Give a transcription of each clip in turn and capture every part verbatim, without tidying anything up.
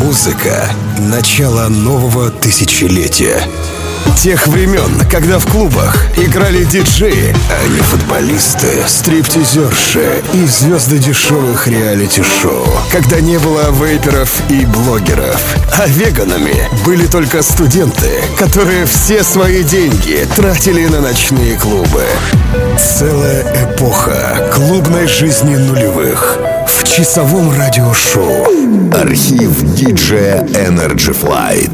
Музыка — начало нового тысячелетия. Тех времен, когда в клубах играли диджеи, а не футболисты, стриптизерши и звезды дешевых реалити-шоу. Когда не было вейперов и блогеров. А веганами были только студенты, которые все свои деньги тратили на ночные клубы. Целая эпоха клубной жизни нулевых в часовом радиошоу. Архив диджея Energy Flight.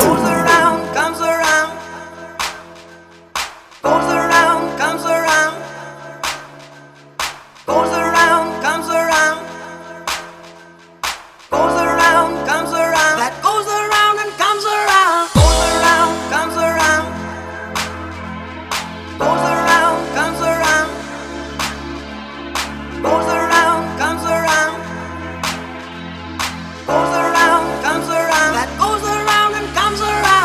Goes around, comes around.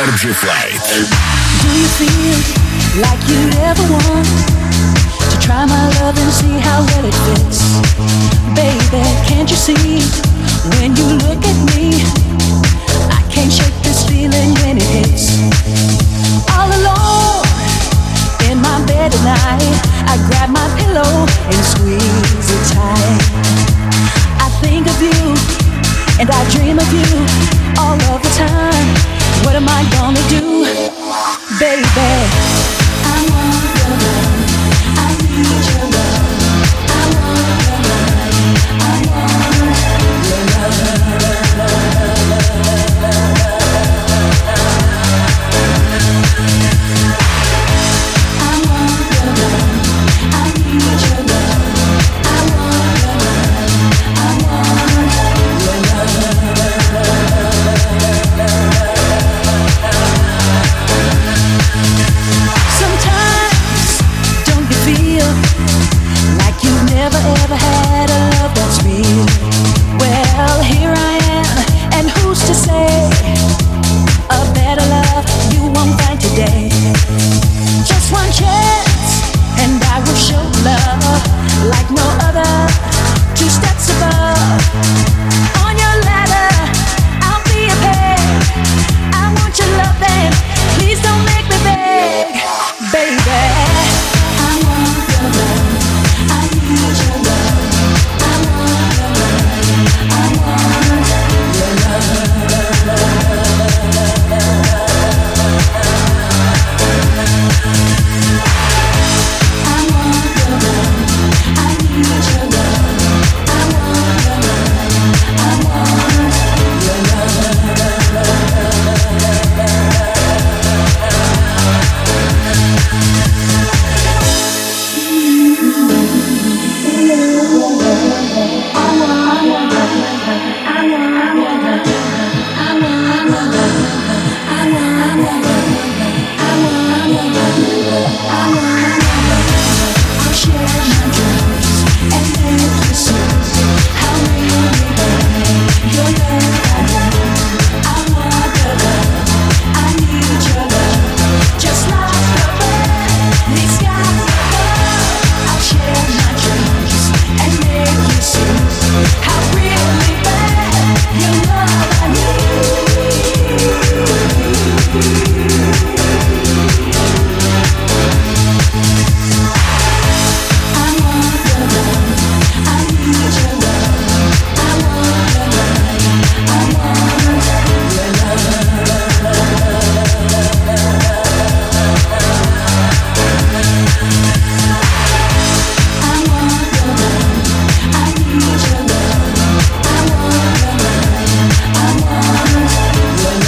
Energy Flight. Do you feel like you ever want to try my love and see how well it fits? Baby, can't you see when you look at me? I can't shake this feeling when it hits. All alone in my bed at night, I grab my pillow and squeeze it tight. I think of you and I dream of you all of the time. What am I gonna do, baby? I want your love, I need your love. I want your love, I want your love. I want your love, I need your love. I want your love, I want your love. Sometimes, don't you feel like you've never ever had a love that's real? Well, here I am, and who's to say a better love you won't find today? Just one chance, and I will show love like no other. Two steps above, on your ladder, I'll be a peg. I want your love, then please don't make me beg, baby. I want your love, I need your love. I want your love, I want your love. I want your love, I need your love. I want your love, I want your I'll share my dreams and make you see how really bad your love I want. I want your love, I need your love, just like the bird needs sky above. I'll share my dreams and make you see how really bad your love I need. I want your love, I need your love. I want your love, I want your love. I want your love, I need your love. I want your love, I want your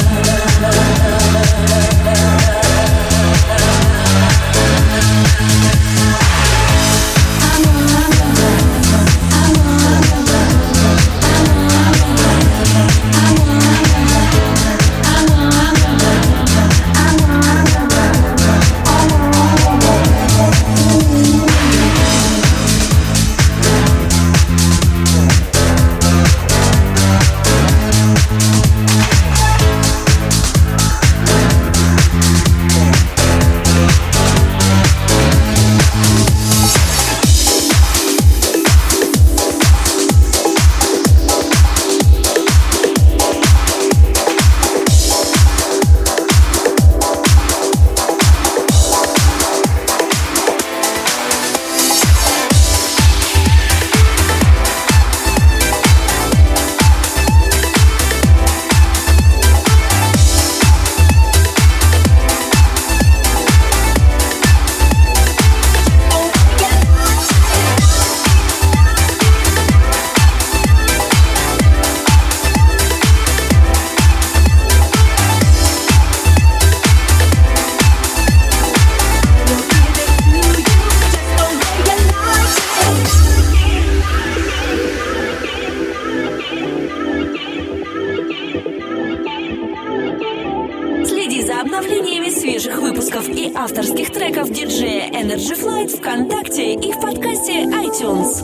авторских треков диджея Energy Flight ВКонтакте и в подкасте iTunes.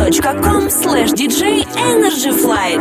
точка ком слэш диджей Energy Flight.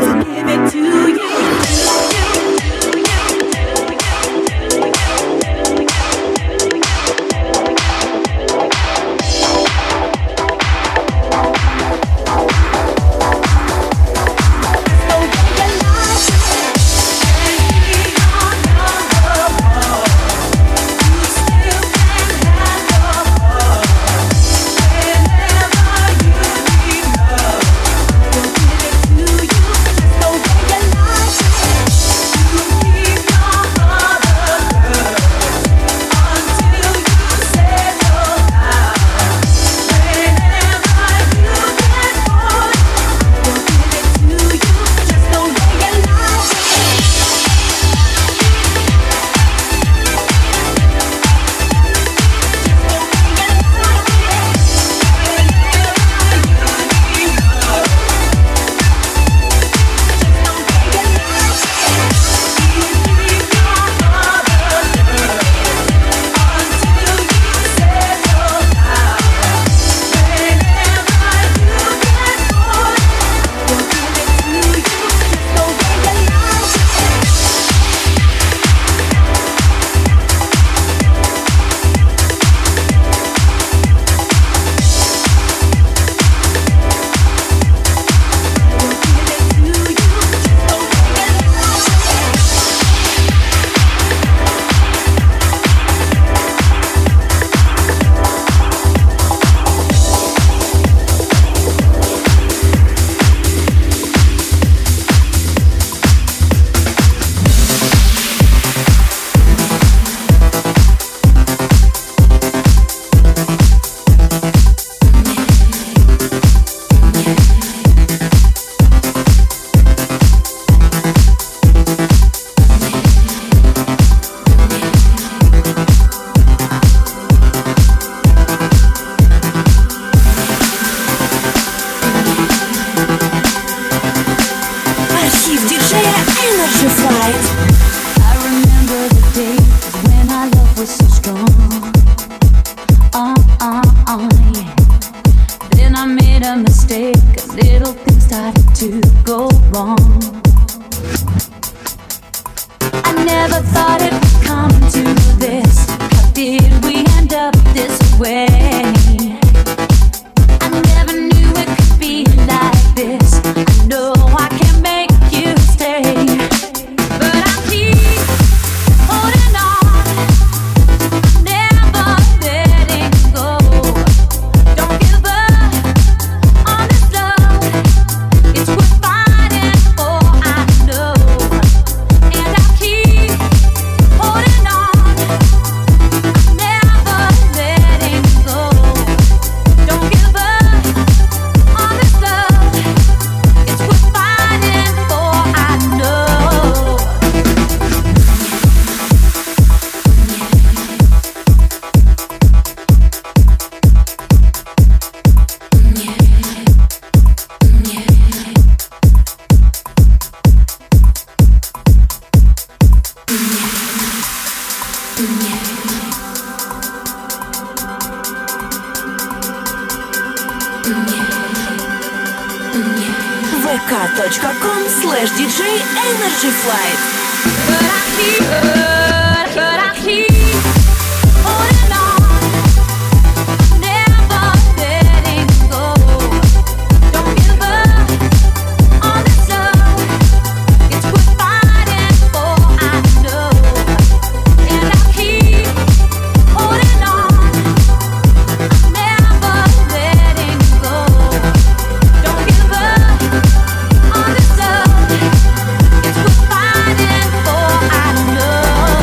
вэ ка точка ком слэш диджей Energy Flight. But I keep, but, but I keep holding on, never letting go. Don't give up on this love, it's worth fighting for, I know. And I keep holding on, never letting go. Don't give up on this love, it's worth fighting for, I know.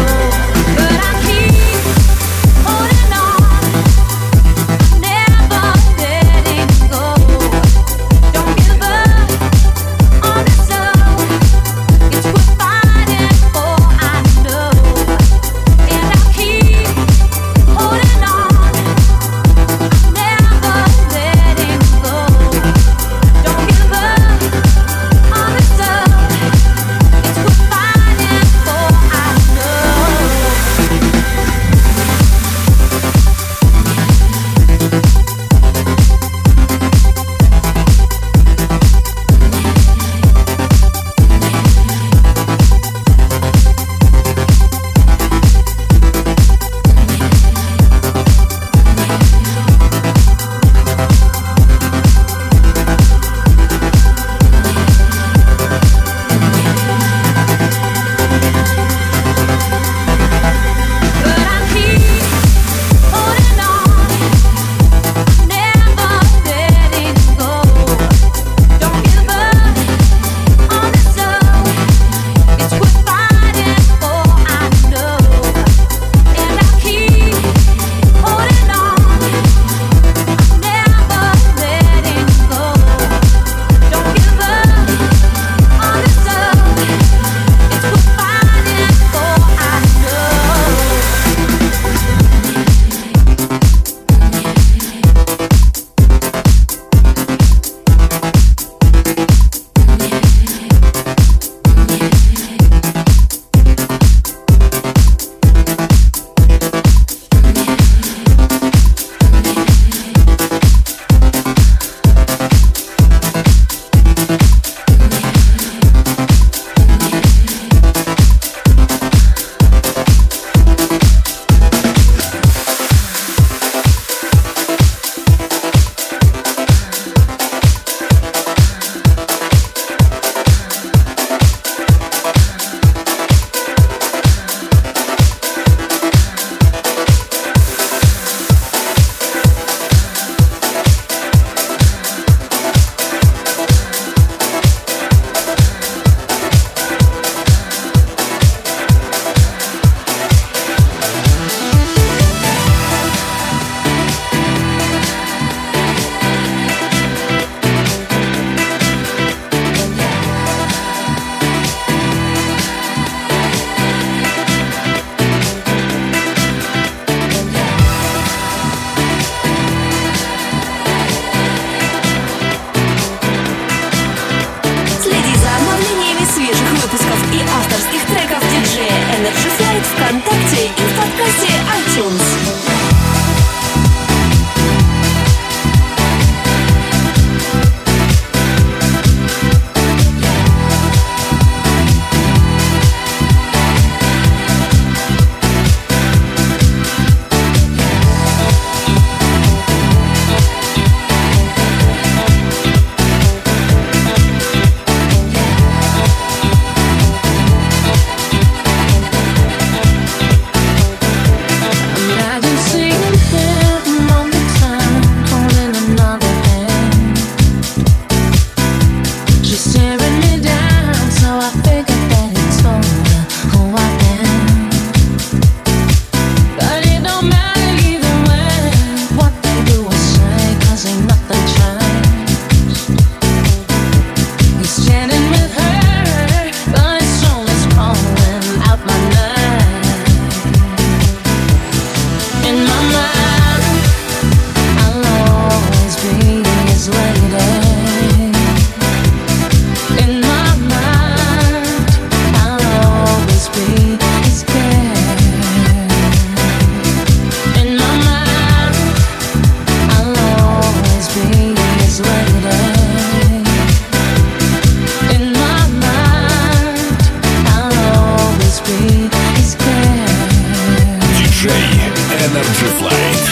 диджей Energy Flight.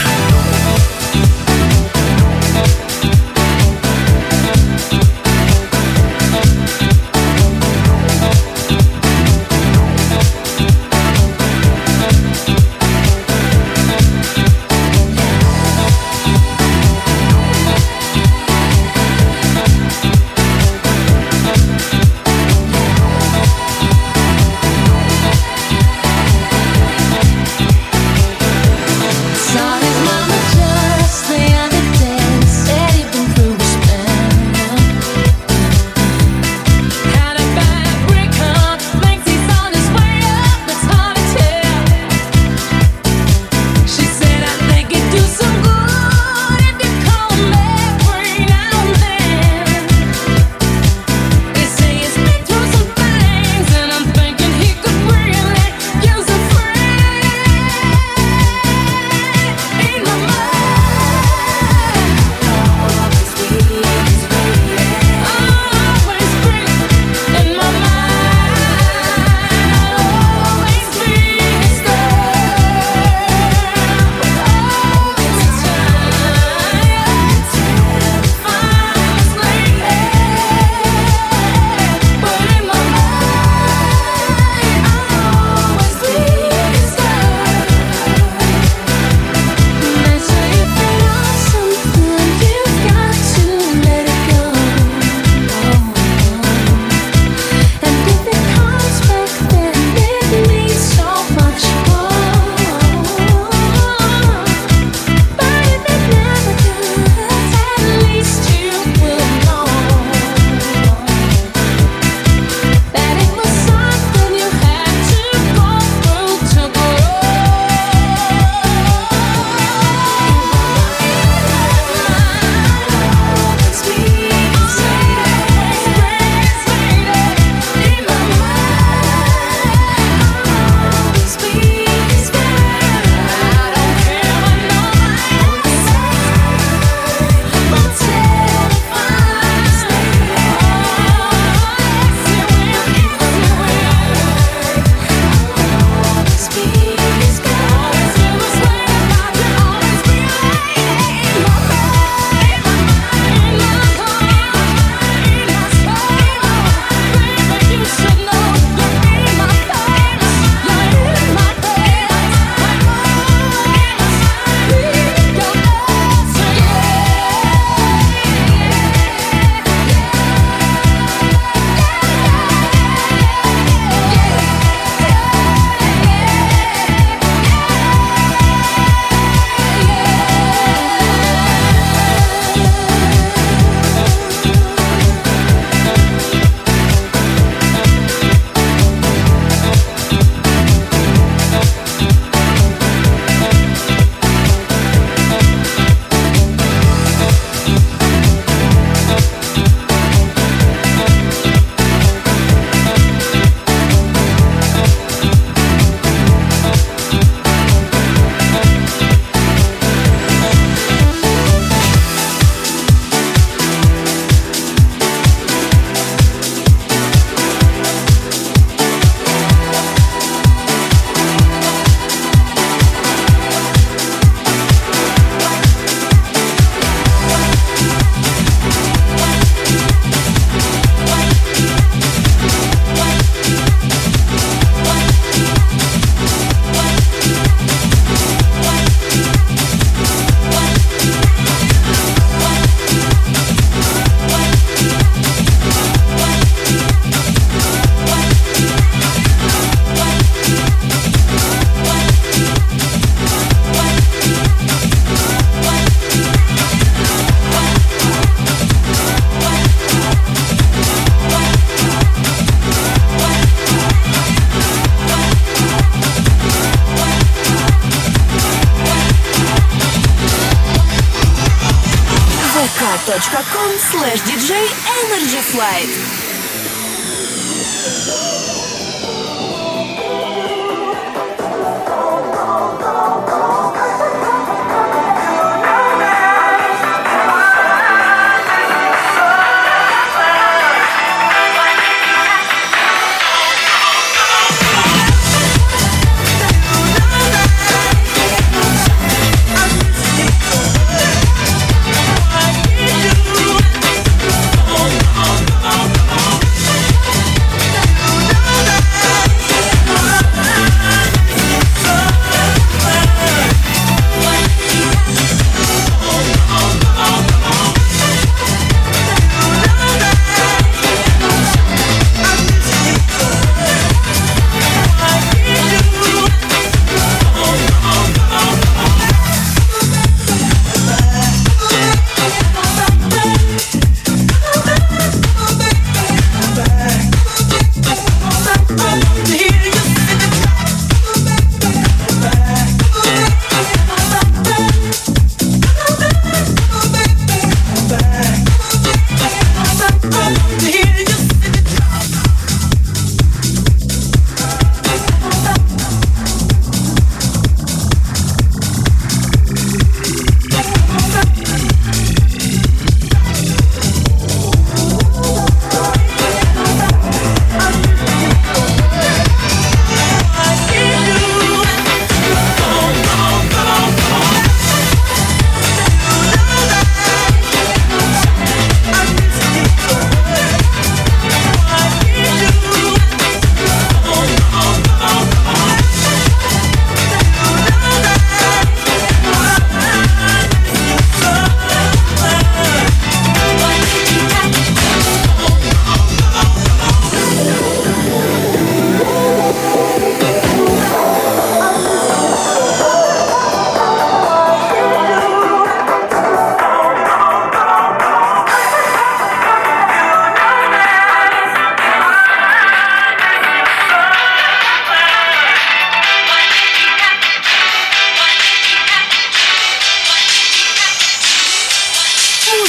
facebook.com slash dj energy flight.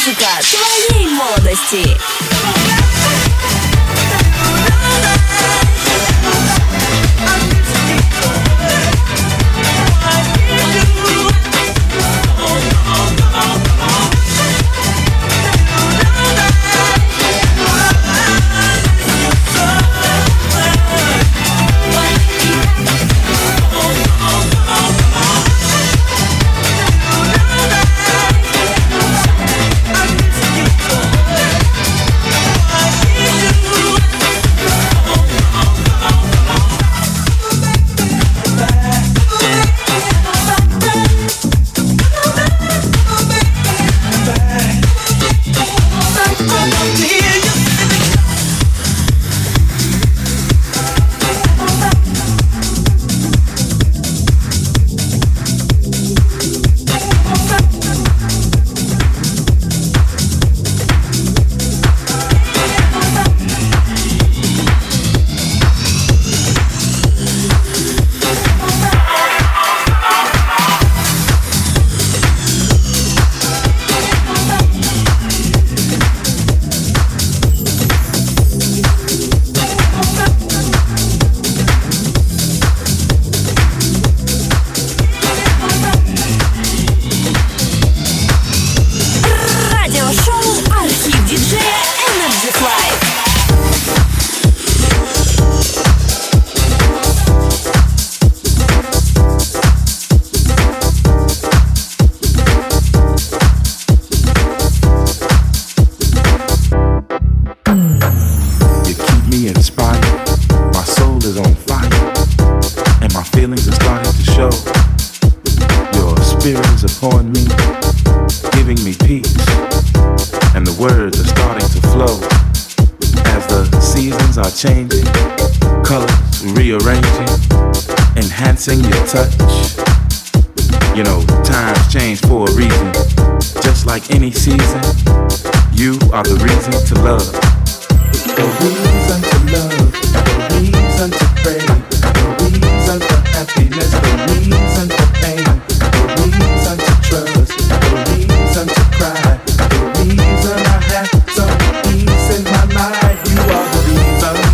классика твоей молодости. Changing, colors rearranging, enhancing your touch. You know, times change for a reason. Just like any season, you are the reason to love. The reason to love, the reason to pray, the reason for happiness, the reason for pain, the reason to trust, the reason to cry, the reason I have some peace in my life. You are the reason.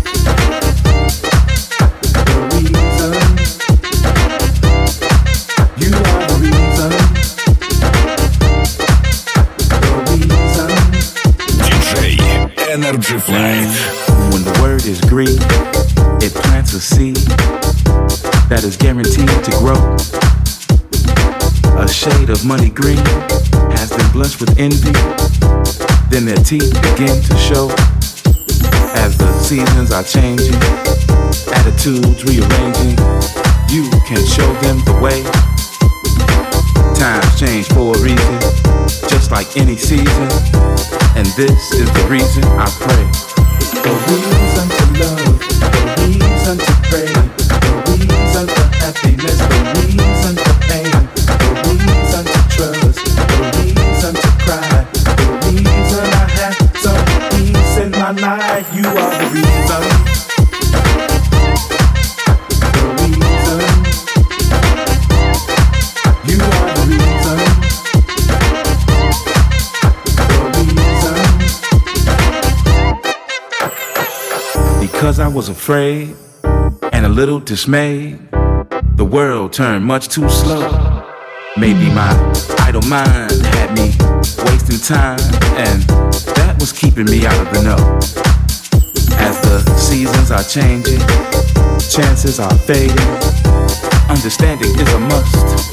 Energy Flight. When the word is green, it plants a seed that is guaranteed to grow. A shade of money green has them blunched with envy. Then their teeth begin to show. As the seasons are changing, attitudes rearranging, you can show them the way. Times change for a reason, just like any season. And this is the reason I pray. The reason to love, the reason to pray, the reason for happiness, the reason for pain, the reason to trust, the reason to cry, the reason I have some peace in my life. You are the reason. The reason. You are the reason. Because I was afraid and a little dismayed, the world turned much too slow. Maybe my idle mind had me wasting time, and that was keeping me out of the know. As the seasons are changing, chances are fading, understanding is a must.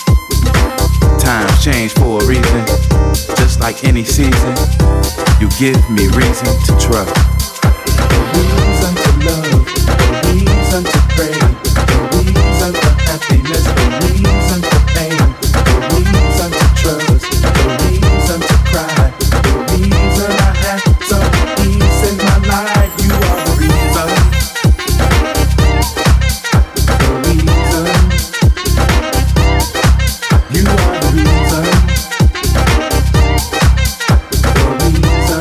Times change for a reason, just like any season, you give me reason to trust. The reason to love, the reason to pray, the reason for happiness, the reason for pain, the reason to trust, the reason to cry, the reason I have some peace in my life. You are the reason. The reason. You are the reason. The reason.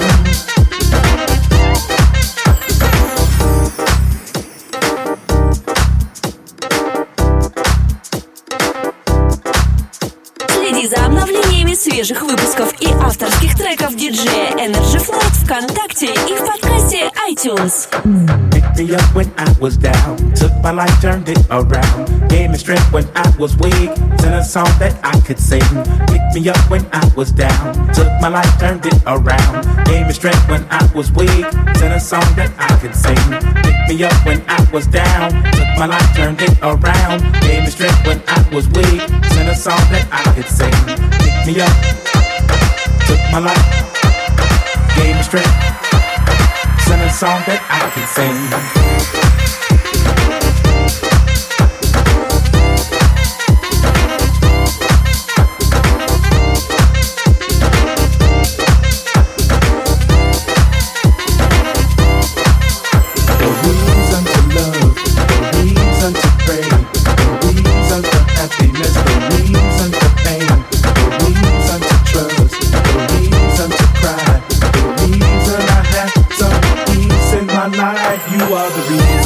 свежих выпусков и авторских треков диджея Energy Flight ВКонтакте и в подкасте iTunes. Picked me up when I was down, took my life, turned it around, gave me strength when I was weak, sent a song that I could sing. Picked me up when I was down, took my life, turned it around, gave me strength when I was weak, sent a song that I could sing. Picked me up when I was down, took my life, turned it around, gave me strength when I was weak, sent a song that I could sing. Picked me up, took my life, gave me strength, sent a song that I could sing. You are the reason.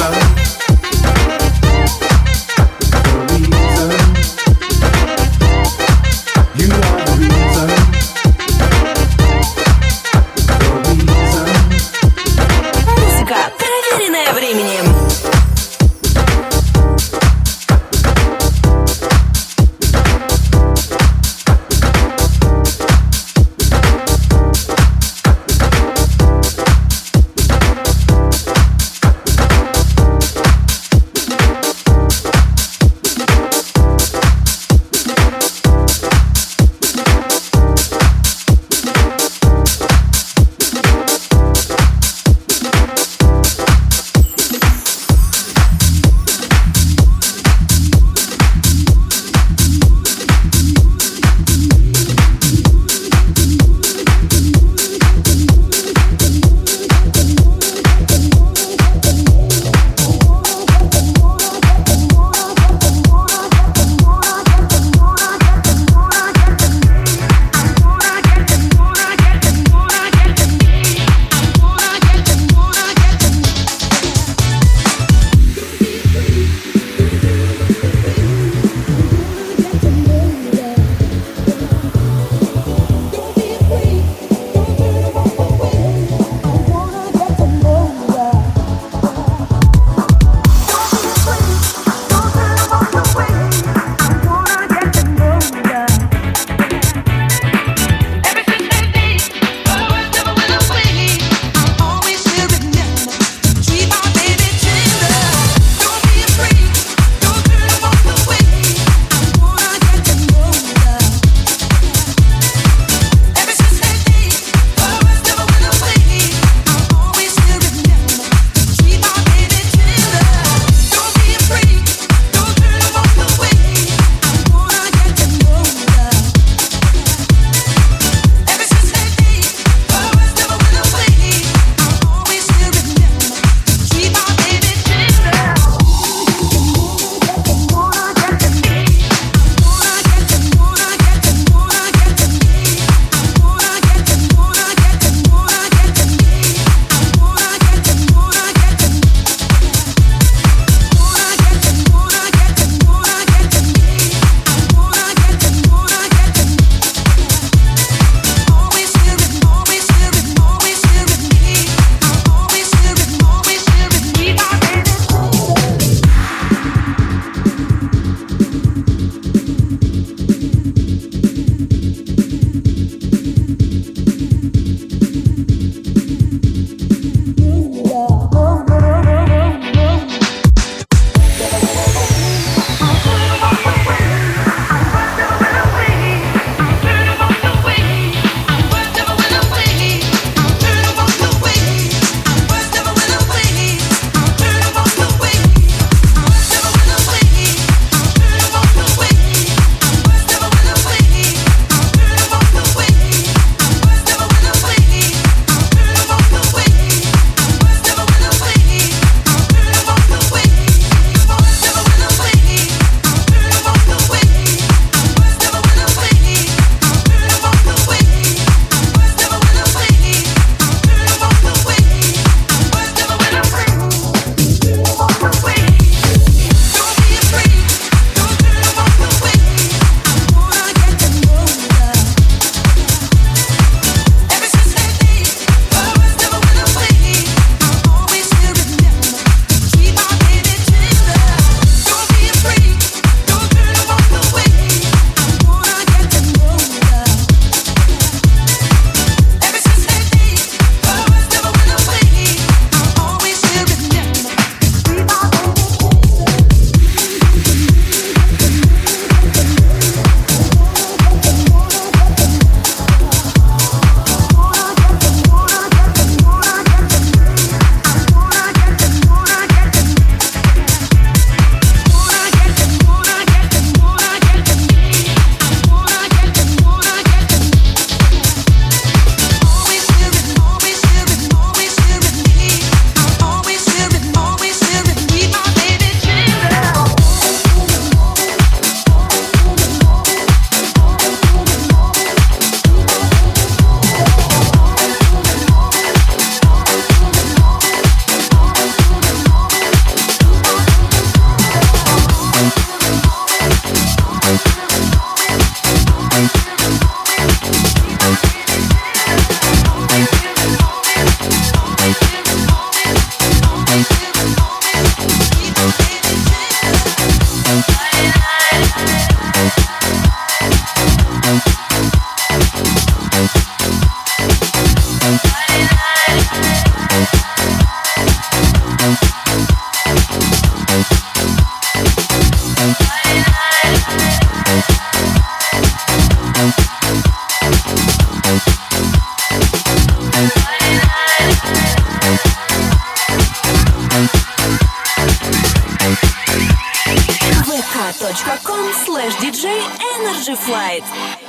iTunes слэш диджей Energy Flight.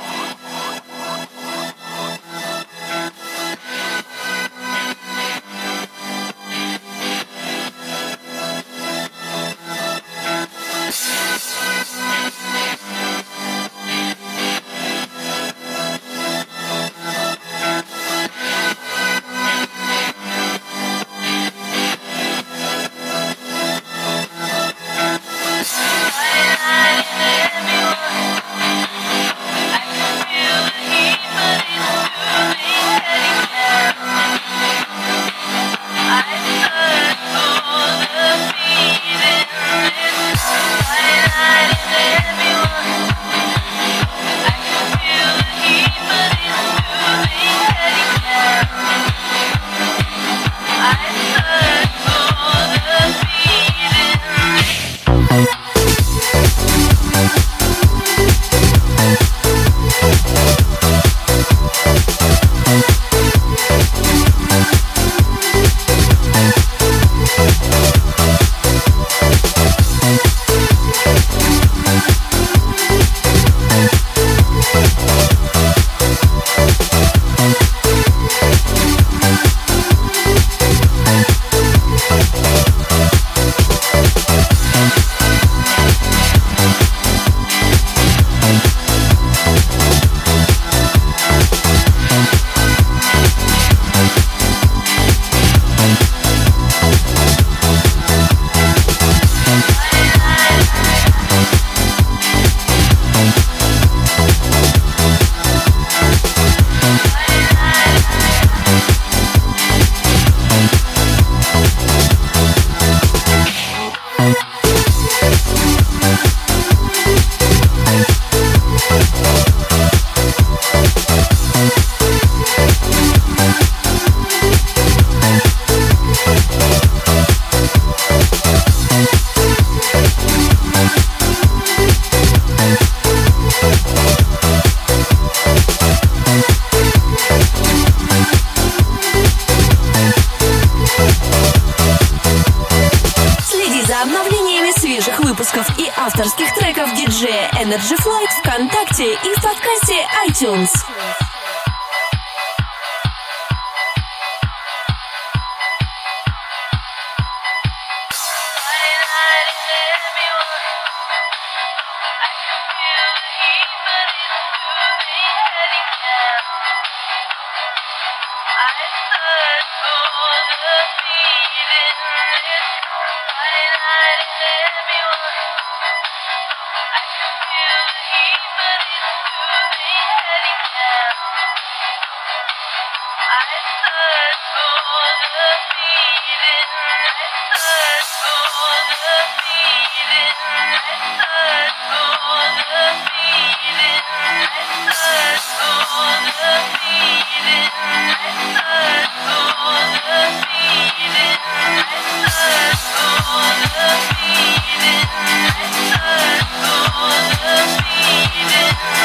И авторских треков диджея Energy Flight ВКонтакте и в подкасте iTunes. Feeling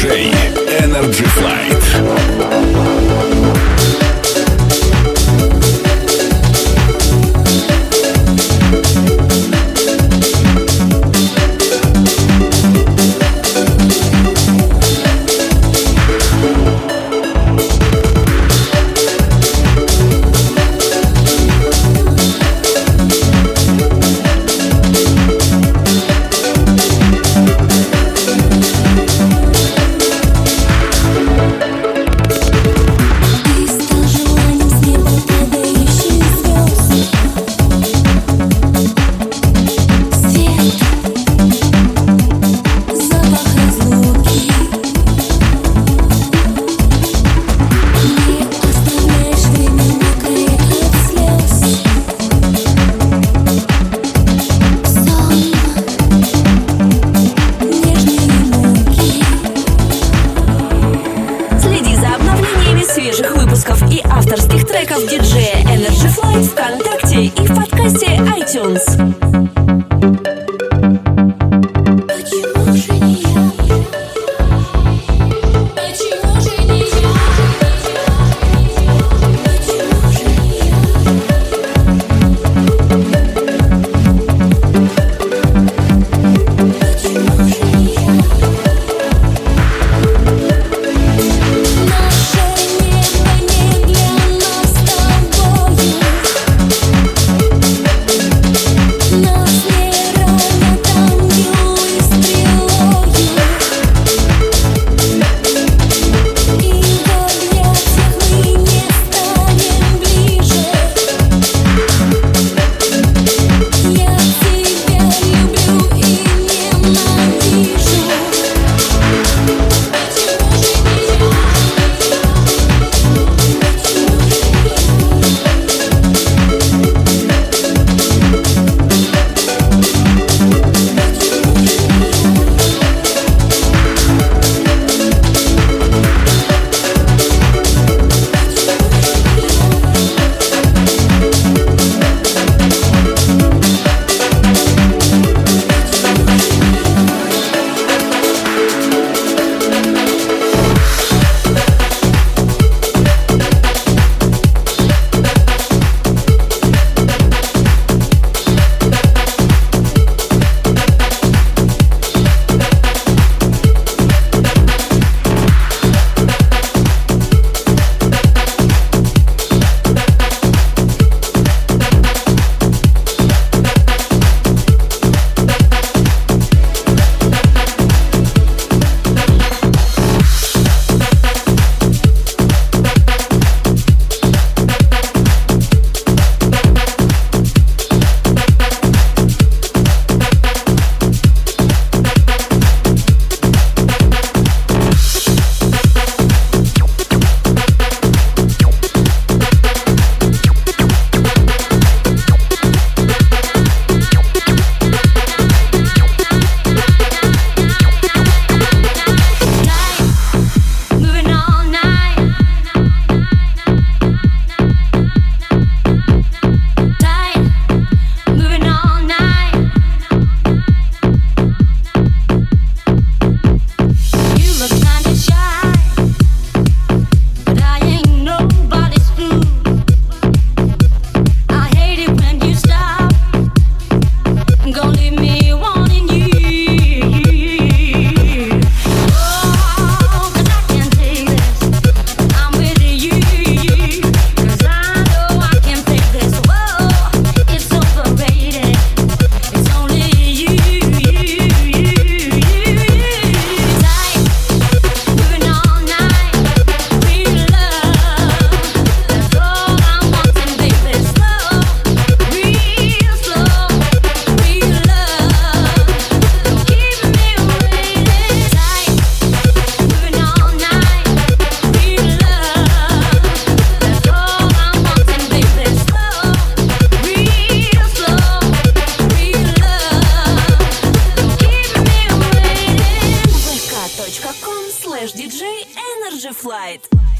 диджей Energy Flight. диджея Energy Flight ВКонтакте и в подкасте iTunes. vk точка com слэш диджей Energy Flight.